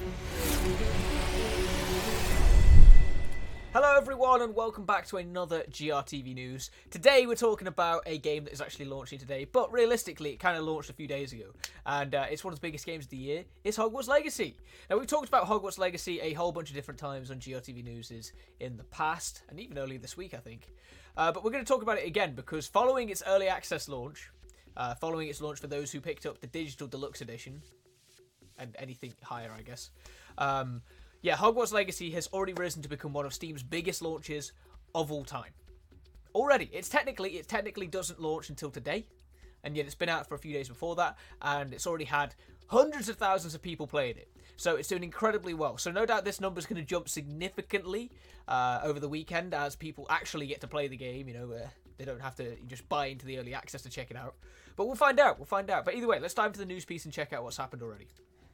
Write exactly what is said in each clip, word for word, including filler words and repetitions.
Hello everyone and welcome back to another G R T V News. Today we're talking about a game that is actually launching today, but realistically it kind of launched a few days ago. And uh, it's one of the biggest games of the year. It's Hogwarts Legacy. Now we've talked about Hogwarts Legacy a whole bunch of different times on G R T V News in the past, and even earlier this week I think. Uh, but we're going to talk about it again because following its early access launch, uh, following its launch for those who picked up the Digital Deluxe Edition, and anything higher I guess, um... yeah, Hogwarts Legacy has already risen to become one of Steam's biggest launches of all time. Already, it's technically it technically doesn't launch until today, and yet it's been out for a few days before that, and it's already had hundreds of thousands of people playing it. So it's doing incredibly well. So no doubt this number's going to jump significantly uh, over the weekend as people actually get to play the game. You know, uh, they don't have to just buy into the early access to check it out. But we'll find out. We'll find out. But either way, let's dive into the news piece and check out what's happened already.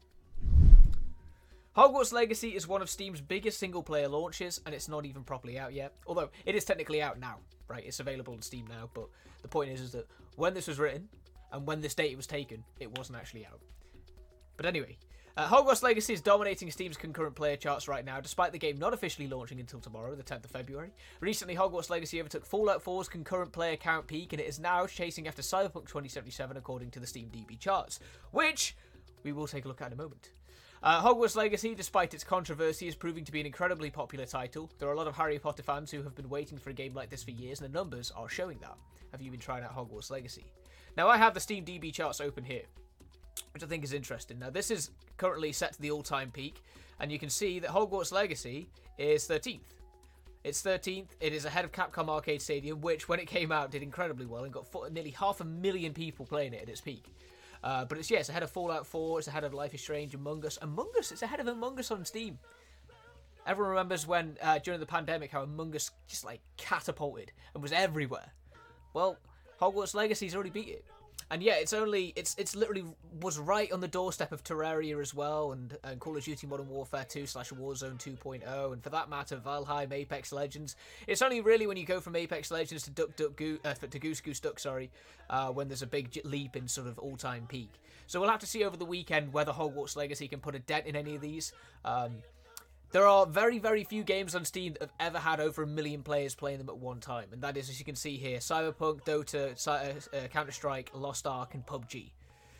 Hogwarts Legacy is one of Steam's biggest single-player launches, and it's not even properly out yet. Although, it is technically out now, right? It's available on Steam now, but the point is, is that when this was written, and when this date was taken, it wasn't actually out. But anyway, uh, Hogwarts Legacy is dominating Steam's concurrent player charts right now, despite the game not officially launching until tomorrow, the tenth of February. Recently, Hogwarts Legacy overtook Fallout four's concurrent player count peak, and it is now chasing after Cyberpunk twenty seventy-seven, according to the Steam D B charts, which we will take a look at in a moment. Uh, Hogwarts Legacy, despite its controversy, is proving to be an incredibly popular title. There are a lot of Harry Potter fans who have been waiting for a game like this for years, and the numbers are showing that. Have you been trying out Hogwarts Legacy? Now, I have the Steam D B charts open here, which I think is interesting. Now, this is currently set to the all-time peak, and you can see that Hogwarts Legacy is thirteenth. It's thirteenth. It is ahead of Capcom Arcade Stadium, which, when it came out, did incredibly well and got nearly half a million people playing it at its peak. Uh, but it's, yeah, it's ahead of Fallout four, it's ahead of Life is Strange, Among Us. Among Us, it's ahead of Among Us on Steam. Everyone remembers when, uh, during the pandemic, how Among Us just, like, catapulted and was everywhere. Well, Hogwarts Legacy's already beat it. And yeah, it's only, it's it's literally was right on the doorstep of Terraria as well, and, and Call of Duty Modern Warfare two slash Warzone two point oh, and for that matter, Valheim, Apex Legends. It's only really when you go from Apex Legends to Duck Duck Goo, uh, to Goose Goose Duck, sorry, uh, when there's a big leap in sort of all-time peak. So we'll have to see over the weekend whether Hogwarts Legacy can put a dent in any of these. Um, There are very, very few games on Steam that have ever had over a million players playing them at one time. And that is, as you can see here, Cyberpunk, Dota, uh, Counter-Strike, Lost Ark, and P U B G.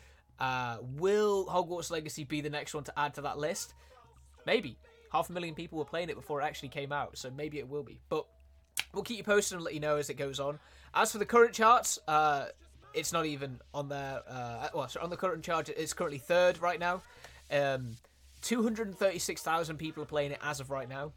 Uh, will Hogwarts Legacy be the next one to add to that list? Maybe. Half a million people were playing it before it actually came out, so maybe it will be. But we'll keep you posted and let you know as it goes on. As for the current charts, uh, it's not even on there. Uh, well, so on the current chart, it's currently third right now. Um... two hundred thirty-six thousand people are playing it as of right now.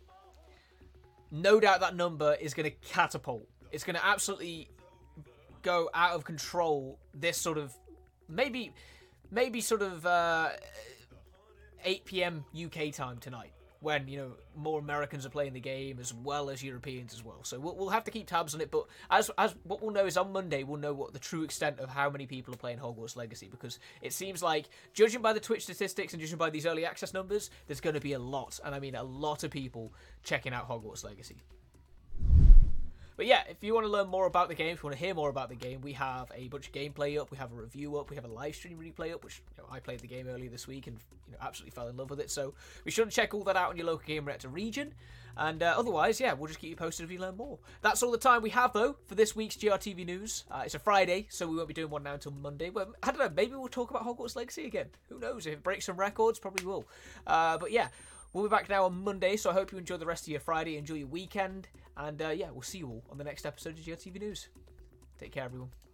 No doubt that number is going to catapult. It's going to absolutely go out of control this sort of, maybe, maybe sort of uh, eight p m U K time tonight, when, you know, more Americans are playing the game as well as Europeans as well. So we'll, we'll have to keep tabs on it, but as as what we'll know is on Monday, we'll know what the true extent of how many people are playing Hogwarts Legacy, because it seems like, judging by the Twitch statistics and judging by these early access numbers, there's going to be a lot, and I mean a lot of people checking out Hogwarts Legacy. But yeah, if you want to learn more about the game, if you want to hear more about the game, we have a bunch of gameplay up, we have a review up, we have a live stream replay up, which, you know, I played the game earlier this week and, you know, absolutely fell in love with it. So be sure to check all that out on your local Game Reactor region. And uh, otherwise, yeah, we'll just keep you posted if you learn more. That's all the time we have, though, for this week's G R T V News. Uh, it's a Friday, so we won't be doing one now until Monday. Well, I don't know, maybe we'll talk about Hogwarts Legacy again. Who knows? If it breaks some records, probably will. Uh, but yeah, we'll be back now on Monday, so I hope you enjoy the rest of your Friday, enjoy your weekend, and uh, yeah, we'll see you all on the next episode of G R T V News. Take care, everyone.